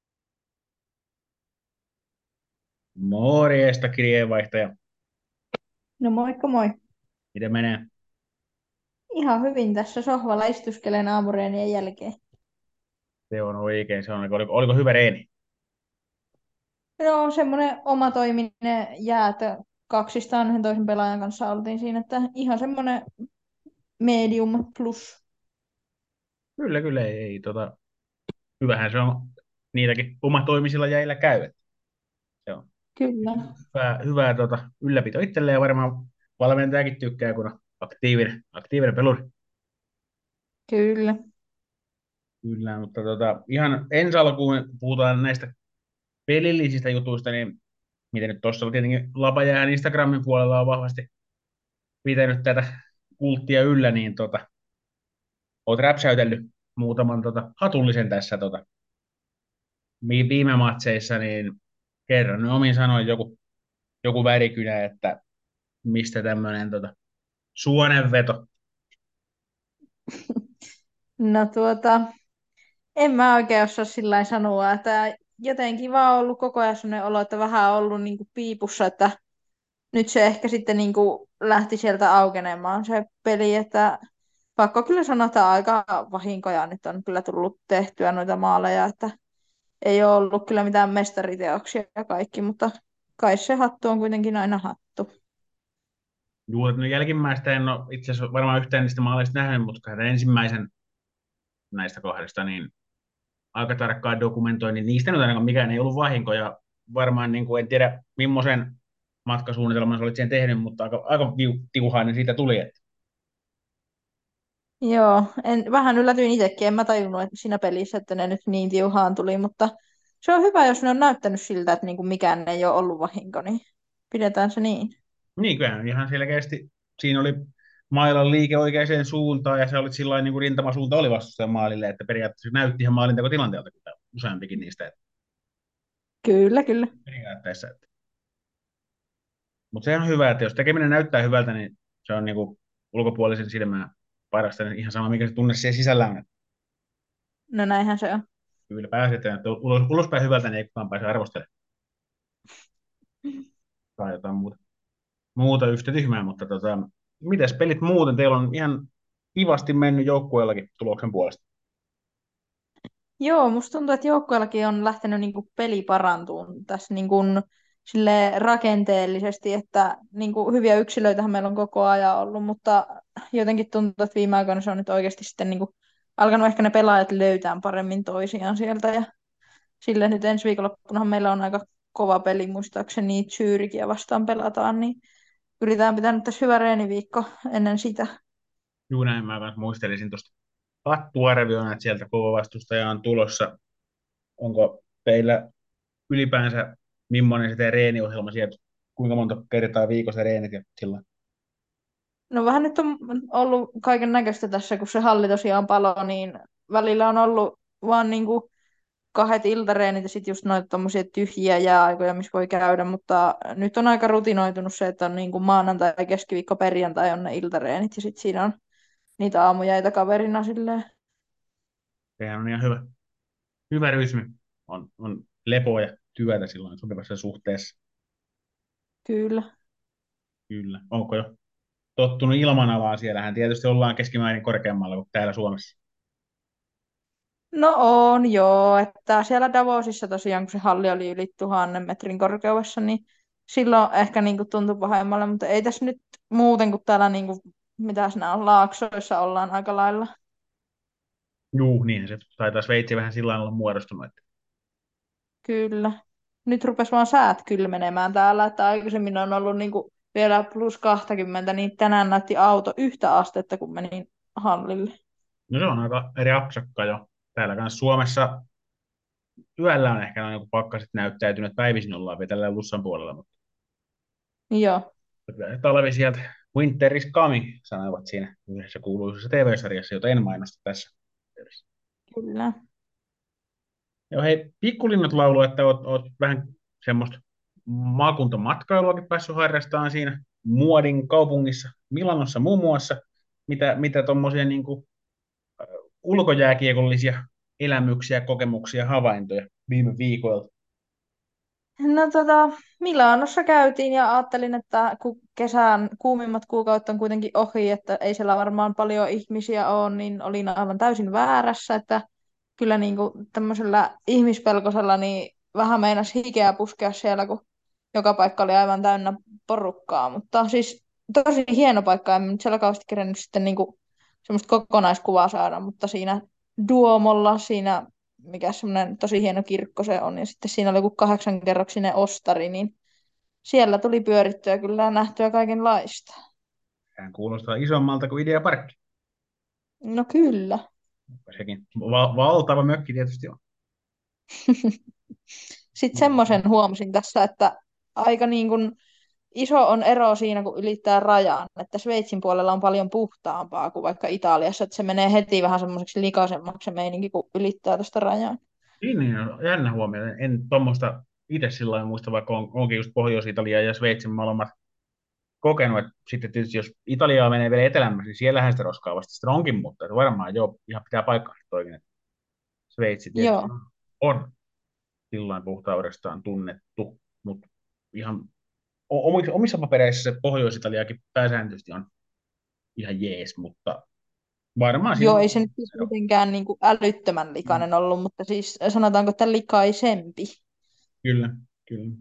Morjesta, kirjeenvaihtaja. No moikka moi. Miten menee? Ihan hyvin tässä sohvalla istuskelen aamureenien jälkeen. Se on oikein. Se on, oliko hyvä reeni? No semmoinen omatoiminen jäätö kaksistaan yhden toisen pelaajan kanssa oltiin siinä, että ihan semmoinen medium plus. Kyllä, ei hyvähän se on niitäkin omatoimisilla jäillä käy. Että se on Kyllä. hyvää ylläpito itselleen ja varmaan valmentajakin tykkää, kun on aktiivinen peluri. Kyllä. Kyllä, mutta ihan ensi alkuun puhutaan näistä pelillisistä jutuista, niin miten nyt tuossa tietenkin Lapajään Instagramin puolella on vahvasti pitänyt tätä kulttia yllä, niin oot räpsäytellyt muutaman hatullisen tässä viime matseissa, niin kerran nyt omin sanoin joku värikynä, että mistä tämmöinen suonenveto. No en mä oikein osaa sillä lailla sanoa, että jotenkin vaan ollut koko ajan sellainen olo, että vähän ollut niin kuin piipussa, että nyt se ehkä sitten niin kuin lähti sieltä aukenemaan se peli, että pakko kyllä sanoa, että aika vahinkoja nyt on kyllä tullut tehtyä noita maaleja, että ei ole ollut kyllä mitään mestariteoksia ja kaikki, mutta kai se hattu on kuitenkin aina hattu. Juu, no jälkimmäistä en ole itse asiassa varmaan yhtään niistä maaleista nähnyt, mutta tämän ensimmäisen näistä kahdesta, niin aika tarkkaan dokumentoin, niin niistä nyt ainakaan mikään ei ollut vahinko, ja varmaan niin kuin, en tiedä, millaisen matkasuunnitelman sä olit siihen tehnyt, mutta aika tiuhainen siitä tuli. Että. Joo, vähän yllätyin itsekin, en mä tajunnut että siinä pelissä, että ne nyt niin tiuhaan tuli, mutta se on hyvä, jos ne on näyttänyt siltä, että niinku mikään ei ole ollut vahinko, niin pidetään se niin. Niin, kyllähän ihan selkeästi siinä oli mailan liike oikeaan suuntaan, ja se oli sillä niin kuin rintamasuunta oli vastustajan maalille, että periaatteessa näytti ihan maalintekotilanteelta kyllä useampikin niistä. Että Kyllä, kyllä. periaatteessa. Että. Mutta se on hyvä, että jos tekeminen näyttää hyvältä, niin se on niin kuin ulkopuolisen silmään parasta, niin ihan sama, mikä se tunne siellä sisällä on. Että No näinhän se on. kyllä pääsetään, että ulospäin hyvältä, niin ei kukaan pääse arvostelemaan. Tai jotain muuta yhtä tyhmää, mutta mitäs pelit muuten? Teillä on ihan kivasti mennyt joukkueellakin tuloksen puolesta. Joo, musta tuntuu, että joukkueellakin on lähtenyt niinku peli parantumaan tässä niinku sille rakenteellisesti, että niinku hyviä yksilöitähän meillä on koko ajan ollut, mutta jotenkin tuntuu, että viime aikoina se on nyt oikeasti sitten niinku alkanut ehkä ne pelaajat löytää paremmin toisiaan sieltä ja sille nyt ensi viikonloppunahan meillä on aika kova peli, muistaakseni Zürichiä vastaan pelataan, niin yritetään pitää nyt tässä hyvä reeniviikko ennen sitä. Juu, näin mä kanssa muistelisin tuosta hattuarvioon, että sieltä kova vastustaja on tulossa. Onko teillä ylipäänsä, millainen se teidän reeniohjelma sieltä, kuinka monta kertaa viikossa reenit ja sillä? No vähän nyt on ollut kaiken näköistä tässä, kun se halli tosiaan paloi, niin välillä on ollut vaan niinku kahdet iltareenit ja sitten just noita tommosia tyhjiä jääaikoja, missä voi käydä, mutta nyt on aika rutinoitunut se, että on niinku maanantai, keskiviikko, perjantai on ne iltareenit ja sitten siinä on niitä aamujäitä kaverina silleen. Sehän on ihan hyvä rytmi. On lepoa ja työtä silloin sopivassa suhteessa. Kyllä. Kyllä. Onko jo tottunut ilmanalaan? Siellähän tietysti ollaan keskimäärin korkeammalla kuin täällä Suomessa. No on joo, että siellä Davosissa tosiaan, kun se halli oli yli 1000 metrin korkeudessa, niin silloin ehkä niinku tuntui pahemmalle, mutta ei tässä nyt muuten kuin täällä, niinku, mitä siinä on, laaksoissa ollaan aika lailla. Juu, niinhän se taitaa Sveitsi vähän sillä lailla olla muodostunut. Että. Kyllä. Nyt rupesi vaan säät kylmenemään täällä, että aikaisemmin on ollut niinku vielä plus 20, niin tänään näytti auto yhtä astetta, kun menin hallille. No se on aika eri apsakka jo. Täällä kanssa Suomessa yöllä on ehkä noin joku pakkaset näyttäytynyt, päivisin ollaan vielä tällä Lussan puolella, mutta Joo, kyllä se talvi sieltä Winter is coming, sanoivat siinä yhdessä kuuluisessa TV-sarjassa, jota en mainosta tässä yhteydessä. kyllä. Joo, hei, Pikkulinnut laulu, että oot vähän semmoista maakuntamatkailuakin päässyt harrastamaan siinä Muodin kaupungissa, Milanossa muun muassa. Mitä tuommoisia niin ulkojääkiekollisia elämyksiä, kokemuksia, havaintoja viime viikoilta? No Milanossa käytiin ja ajattelin, että kun kesän kuumimmat kuukaudet on kuitenkin ohi, että ei siellä varmaan paljon ihmisiä ole, niin olin aivan täysin väärässä, että kyllä niin kuin tämmöisellä ihmispelkosella niin vähän meinasi hikeä puskea siellä, kun joka paikka oli aivan täynnä porukkaa, mutta siis tosi hieno paikka, en nyt siellä kauheasti kerennyt sitten niinku semmoista kokonaiskuvaa saada, mutta siinä Duomolla, siinä mikä semmoinen tosi hieno kirkko se on, ja sitten siinä oli joku 8-kerroksinen ostari, niin siellä tuli pyörittyä kyllä ja nähtyä kaikenlaista. Sehän kuulostaa isommalta kuin Ideaparkki. No kyllä. Sekin valtava mökki tietysti on. Sitten semmoisen huomasin tässä, että aika niin kuin iso on ero siinä, kun ylittää rajan, että Sveitsin puolella on paljon puhtaampaa kuin vaikka Italiassa, että se menee heti vähän semmoiseksi likaisemmaksi se meininki, kun ylittää tuosta rajan. Niin, jännä huomio. En tuommoista itse sillä lailla muista, vaikka onkin just Pohjois-Italia ja Sveitsin molemmat kokenut. Että sitten tietysti jos Italiaa menee vielä etelämmäksi, niin siellähän sitä roskaa vasta sitten onkin, mutta että varmaan joo, ihan pitää paikkaa toikin. Että Sveitsi tietysti Joo, on sillain puhtaudestaan tunnettu, mutta ihan omissa papereissa se Pohjois-Italiakin pääsääntöisesti on ihan jees, mutta varmaan siinä joo, on ei se nyt siis ero. mitenkään niin kuin älyttömän likainen ollut, mutta siis sanotaanko, että likaisempi. Kyllä, kyllä.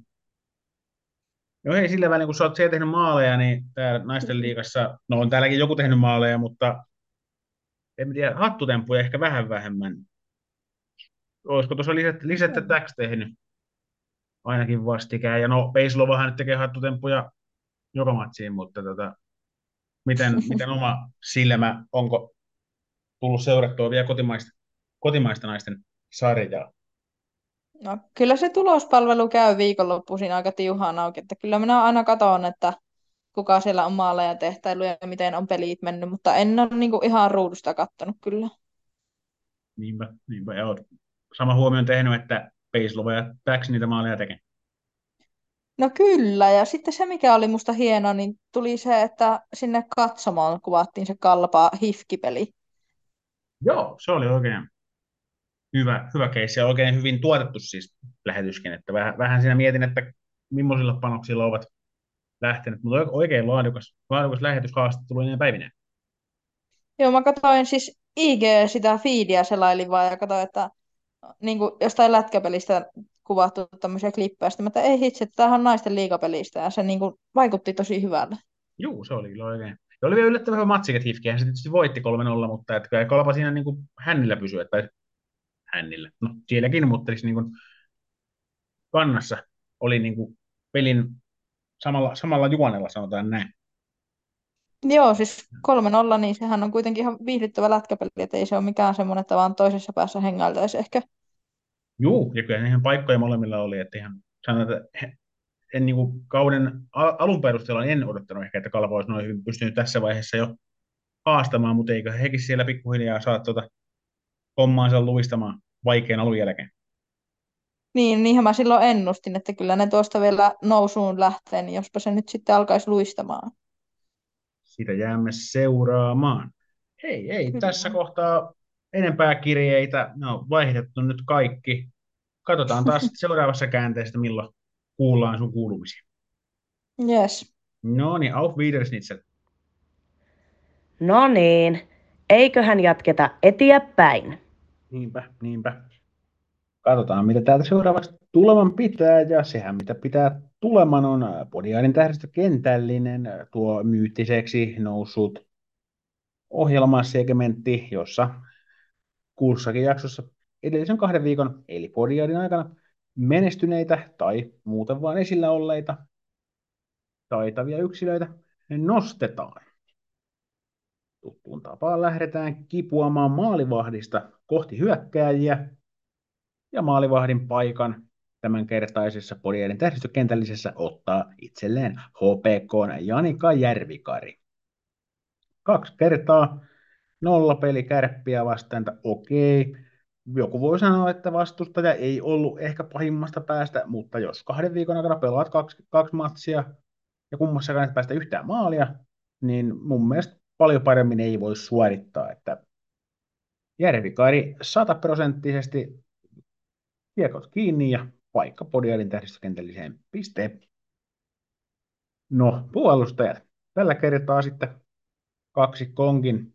No hei, sillä välin kun sä oot siellä tehnyt maaleja, niin täällä naisten liigassa, no on täälläkin joku tehnyt maaleja, mutta en tiedä, hattutemppuja ehkä vähän vähemmän. Olisiko tuossa lisättä täks tehnyt ainakin vastikään? Ja no, Peislovahan nyt tekee hattutemppuja joka matsiin, mutta miten oma silmä, onko tullut seurattua vielä kotimaista naisten sarjaa? No, kyllä se tulospalvelu käy viikonloppuisin aika tiuhaan auki, että kyllä minä aina katson, että kuka siellä on maaleja tehtailu ja miten on pelit mennyt, mutta en ole niin kuin ihan ruudusta kattonut kyllä. Niinpä. Ja oot sama huomioon tehnyt, että Peislova ja Täks niitä maaleja tekee. No kyllä, ja sitten se mikä oli musta hieno, niin tuli se, että sinne katsomaan kuvattiin se kalpa hifkipeli. Joo, se oli oikein hyvä keissi ja oikein hyvin tuotettu siis lähetyskin, että vähän siinä mietin, että millaisilla panoksilla ovat lähteneet, mutta oikein laadukas lähetyshaastattelu ennen päivineen. Joo, mä katsoin siis IG sitä feedia selailin vaan ja katsoin, että niin kuin jostain lätkäpelistä kuvattu tämmöisiä klippejä, sitten mä että ei hitsi, että tämähän on naisten liigapelistä ja se niin kuin vaikutti tosi hyvältä. Juu, se oli kyllä oikein. Ja oli vielä yllättävän hyvä matsi, että Hifkihän se tietysti voitti 3-0, mutta että kyllä Kalpa siinä niin kuin hännillä pysyi, tai hännillä, no sielläkin, mutta siis niin kuin kannassa oli niin kuin pelin samalla juonella, sanotaan näin. Joo, siis 3-0, niin sehän on kuitenkin ihan viihdyttävä lätkäpeli, että ei se ole mikään semmoinen, että vaan toisessa päässä hengailtaisi ehkä. Juu, ja kyllä ihan paikkoja molemmilla oli, että ihan sanotaan, että en niin kuin kauden alun perusteella en odottanut ehkä, että Kalpa olisi noin hyvin pystynyt tässä vaiheessa jo haastamaan, mutta eikö hekin siellä pikkuhiljaa saa hommaansa luistamaan vaikean alun jälkeen. Niin, niinhän mä silloin ennustin, että kyllä ne tuosta vielä nousuun lähtee, niin jospa se nyt sitten alkaisi luistamaan. Sitä jäämme seuraamaan. Ei tässä Kyllä. kohtaa enempää kirjeitä. No, vaihdettu nyt kaikki. Katsotaan taas sitten seuraavassa käänteessä, milloin kuullaan sun kuulumisia. Yes. No niin, auf Wiedersehen. No niin, eiköhän jatketa eteenpäin. Niinpä. Katsotaan, mitä täältä seuraavaksi tuleman pitää, ja sehän mitä pitää tuleman on Podiaidin tähdistökentällinen, tuo myyttiseksi noussut ohjelmasegmentti, jossa kussakin jaksossa edellisen 2 viikon, eli Podiaidin aikana, menestyneitä tai muuten vain esillä olleita taitavia yksilöitä nostetaan. Tuttuun tapaan lähdetään kipuamaan maalivahdista kohti hyökkääjiä, ja maalivahdin paikan tämänkertaisessa Podiaidin tähdistökentällisessä ottaa itselleen HPK:n Janika Järvikari. 2 kertaa 0 peli Kärppiä vastaan, että okei. Joku voi sanoa, että vastustaja ei ollut ehkä pahimmasta päästä, mutta jos 2 viikon aikana pelaat kaksi matsia ja kummassakaan et päästä yhtään maalia, niin mun mielestä paljon paremmin ei voi suorittaa, että Järvikari 100% kiekot kiinni ja paikka Podiaidin tähdistökentälliseen pisteen. No, puolustajat. Tällä kertaa sitten 2 konkin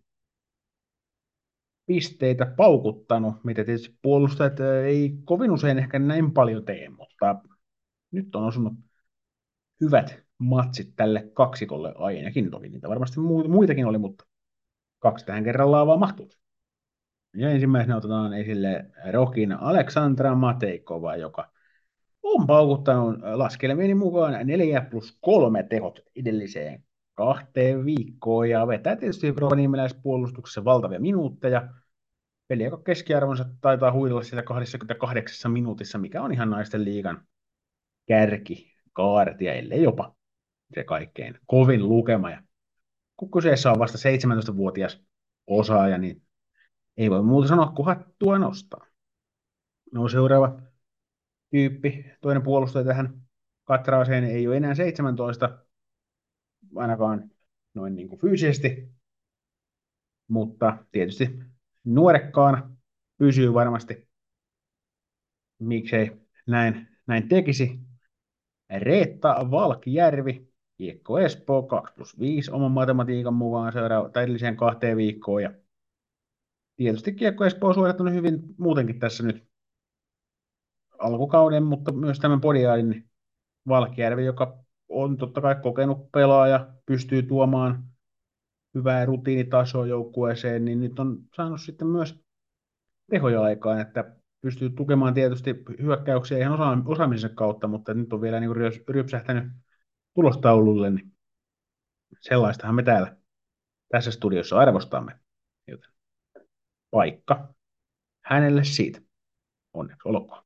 pisteitä paukuttanut, mitä tietysti puolustajat ei kovin usein ehkä näin paljon tee, mutta nyt on osunut hyvät matsit tälle kaksikolle ainakin. Toki niitä varmasti muitakin oli, mutta kaksi tähän kerrallaan vaan mahtuu. Ja ensimmäisenä otetaan esille Rokin Aleksandra Mateikova, joka on paukuttanut laskelmieni mukaan 4+3 tehot edelliseen 2 viikkoon ja vetää tietysti rovaniemiläispuolustuksessa valtavia minuutteja. Peli, joka keskiarvonsa taitaa huidella siellä 28 minuutissa, mikä on ihan naisten liigan kärkikaartia, ellei jopa se kaikkein kovin lukema. Ja kun kyseessä on vasta 17-vuotias osaaja, niin ei voi muuta sanoa kuin hattua nostaa. No seuraava tyyppi, toinen puolustaja tähän katraaseen ei ole enää 17, ainakaan noin niin kuin fyysisesti, mutta tietysti nuorekkaana pysyy varmasti, miksei näin tekisi. Reetta Valkjärvi, Kiekko Espoo 2+5 oman matematiikan mukaan edelliseen 2 viikkoon. Ja tietysti Kiekko Espoo on suorittanut hyvin muutenkin tässä nyt alkukauden, mutta myös tämän podiaadin Valkjärvi, joka on totta kai kokenut pelaaja, pystyy tuomaan hyvää rutiinitasoa joukkueeseen, niin nyt on saanut sitten myös tehoja aikaan, että pystyy tukemaan tietysti hyökkäyksiä ihan osaamisen kautta, mutta nyt on vielä niin rypsähtänyt tulostaululle, niin sellaistahan me täällä tässä studiossa arvostamme. Joten paikka hänelle siitä. Onneksi olkoon.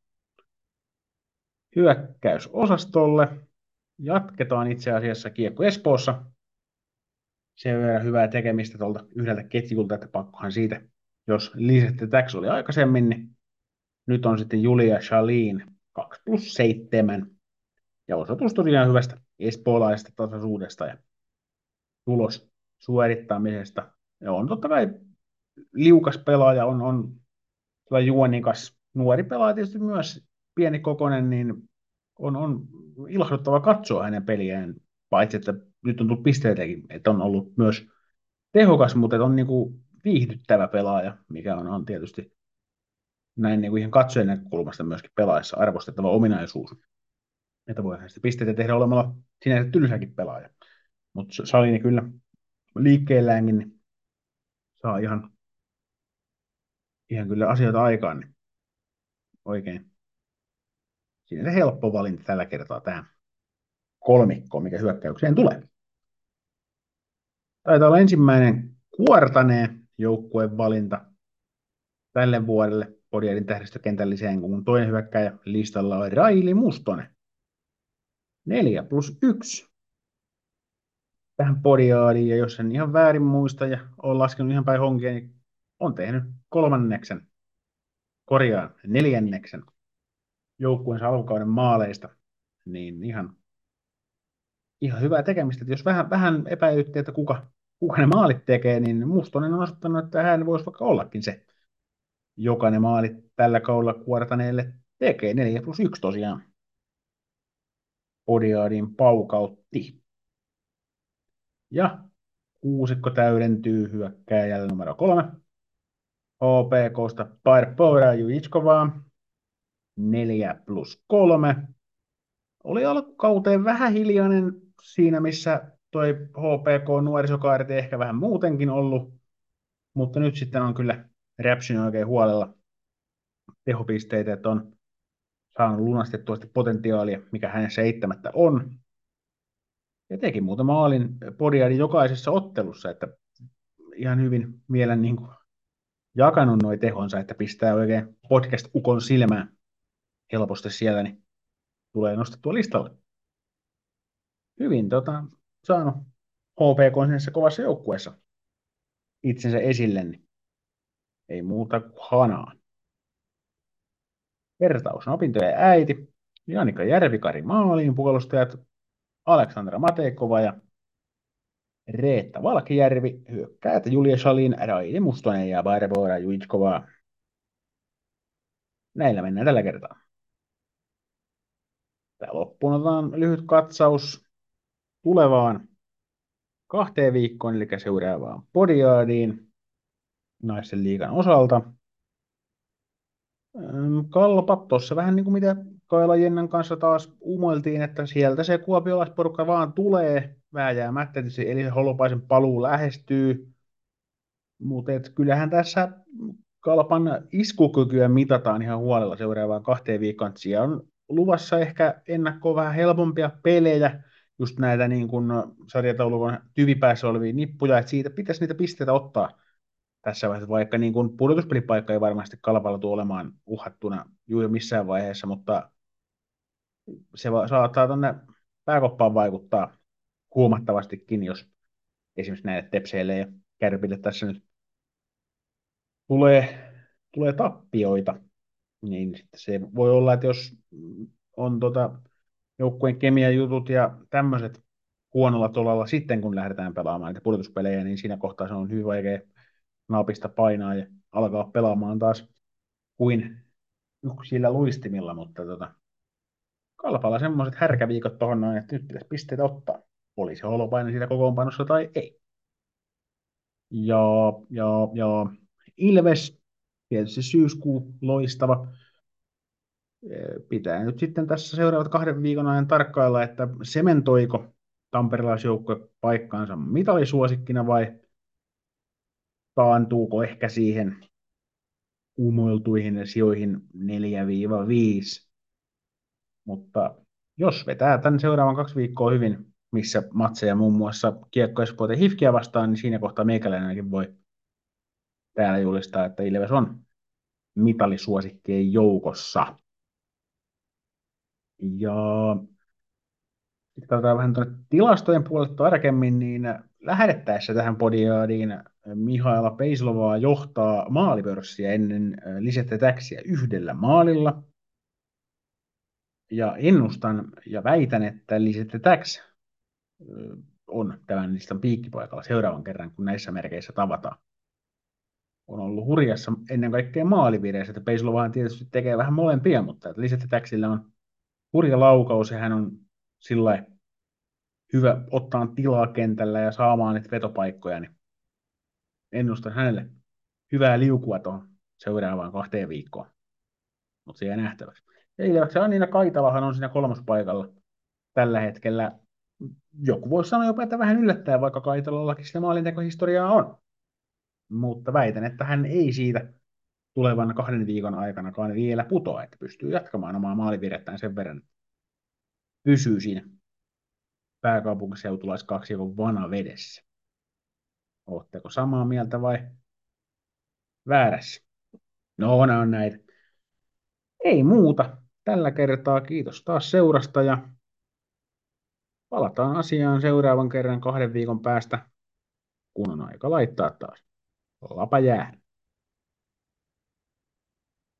Hyökkäysosastolle jatketaan itse asiassa Kiekko Espoossa. Sen verran hyvää tekemistä tuolta yhdeltä ketjulta, että pakkohan siitä, jos Lisette Tax oli aikaisemmin, niin nyt on sitten Julia Shalin 2+7. Ja osoitus tosiaan hyvästä espoolaisesta tasaisuudesta ja tulos suorittamisesta. Ja on totta kai liukas pelaaja, on juonikas nuori pelaaja tietysti myös pieni kokonen, niin on ilahduttava katsoa hänen peliään, paitsi että nyt on tullut pisteitäkin, että on ollut myös tehokas, mutta on niin kuin viihdyttävä pelaaja, mikä on tietysti näin niin kuin ihan katsojen näkökulmasta myöskin pelaajassa arvostettava ominaisuus. Että voihan sitä pisteitä tehdä olemalla sinänsä tylsäkin pelaaja. Mutta Salini kyllä liikkeelläänkin niin saa ihan kyllä asioita aikaan, niin oikein. Siinä se helppo valinta tällä kertaa tähän kolmikkoon, mikä hyökkäykseen tulee. Taitaa olla ensimmäinen Kuortaneen joukkueen valinta tälle vuodelle Podiaidin tähdistökentälliseen, kun toinen hyökkäjä listalla on Raili Mustonen. 4+1 tähän Podiaadiin, ja jos en ihan väärin muista ja olen laskenut ihan päin honkia, niin on tehnyt neljänneksen joukkueensa alkukauden maaleista, niin ihan hyvää tekemistä. Että jos vähän epäilytti, että kuka ne maalit tekee, niin Mustonen on osoittanut, että hän voisi vaikka ollakin se, joka ne maalit tällä kaudella Kuortaneelle tekee. 4+1 tosiaan Podiaadin paukautti. Ja kuusikko täydentyy hyökkääjällä numero 3. HPK:sta Barbora Jujitskovaa 4+3. Oli alkukauteen vähän hiljainen siinä, missä toi HPK-nuorisokaarti ehkä vähän muutenkin ollut, mutta nyt sitten on kyllä räpsynyt oikein huolella tehopisteitä, että on saanut lunastettua sitä potentiaalia, mikä hänessä eittämättä on. Ja teki muutama maalin Podiaidin jokaisessa ottelussa, että ihan hyvin vielä niin kuin jakanut noi tehonsa, että pistää oikein podcast-ukon silmään helposti siellä, niin tulee nostettua listalle. Hyvin saanut HPK sinne kovassa joukkueessa itsensä esille, niin ei muuta kuin hanaa. Vertaus opintojen äiti, Janika Järvikari maaliin, puolustajat Aleksandra Mateikova ja Reetta Valkjärvi, hyökkäät Julia Shalin, Raili Mustonen ja Barbora Jujitskova. Näillä mennään tällä kertaa. Tää loppuun otetaan lyhyt katsaus tulevaan 2 viikkoon, eli seuraavaan Podiaadiin naisten liigan osalta. Kalpa, tuossa vähän niin kuin mitä Kaila Jennan kanssa taas umoiltiin, että sieltä se kuopiolaisporukka vaan tulee vääjäämättä, tietysti Elisa Holopaisen paluu lähestyy, mutta kyllähän tässä Kalpan iskukykyä mitataan ihan huolella seuraavaan 2 viikkoon. Siellä on luvassa ehkä ennakkoon vähän helpompia pelejä, just näitä niin kuin sarjataulukon tyvipäässä olevia nippuja, että siitä pitäisi niitä pisteitä ottaa tässä vaiheessa, vaikka niin kuin pudotuspelipaikka ei varmasti Kalpalla tule olemaan uhattuna juuri missään vaiheessa, mutta se saattaa tuonne pääkoppaan vaikuttaa huomattavastikin, jos esimerkiksi näille Tepseille ja Kärpille tässä nyt tulee tappioita, niin sitten se voi olla, että jos on joukkueen kemiajutut ja tämmöiset huonolla tolalla sitten, kun lähdetään pelaamaan niitä pudotuspelejä, niin siinä kohtaa se on hyvin vaikea napista painaa ja alkaa pelaamaan taas kuin yksillä luistimilla, mutta Kalpalla semmoiset härkäviikot tuohon noin, että nyt pitäisi pisteitä ottaa. Oli se Holopainen siitä kokoonpanossa tai ei. Ja, ja Ilves, tietysti syyskuu loistava. Pitää nyt sitten tässä seuraavat 2 viikon ajan tarkkailla, että sementoiko tamperelaisjoukkue paikkaansa mitalisuosikkina vai taantuuko ehkä siihen umoiltuihin sijoihin 4-5. Mutta jos vetää tämän seuraavan 2 viikkoa hyvin, missä matseja muun muassa Kiekko Espoota ja Hifkiä vastaan, niin siinä kohtaa meikäläinenkin voi täällä julistaa, että Ilves on mitalisuosikkien joukossa. Ja sitten katsotaan vähän tuonne tilastojen puolelle tarkemmin, niin lähdettäessä tähän podiaadiin Mihaela Peislovaa johtaa maalipörssiä ennen Lisette Täksiä 1 maalilla. Ja ennustan ja väitän, että Lisette Täks on tämän listan piikkipaikalla seuraavan kerran, kun näissä merkeissä tavataan. On ollut hurjassa ennen kaikkea maalivireissä, että Peislovahan tietysti tekee vähän molempia, mutta Lisette Täksillä on hurja laukaus ja hän on sillä hyvä ottaa tilaa kentällä ja saamaan niitä vetopaikkoja, niin ennustan hänelle hyvää liukua tuohon seuraavaan 2 viikkoon. Mutta se jää nähtäväksi. Ja Ilveksen Anniina Kaitalahan on siinä 3. paikalla tällä hetkellä. Joku voisi sanoa jopa, että vähän yllättää, vaikka Kaitalallakin sitä maalintekohistoriaa on. Mutta väitän, että hän ei siitä tulevan 2 viikon aikanakaan vielä putoa, että pystyy jatkamaan omaa maalivirrettään sen verran. Pysyy siinä pääkaupunkiseutulaiskaksikon vanavedessä. Oletteko samaa mieltä vai väärässä? No, nämä on näitä. Ei muuta. Tällä kertaa kiitos taas seurasta ja palataan asiaan seuraavan kerran 2 viikon päästä, kun on aika laittaa taas lapa jäähän.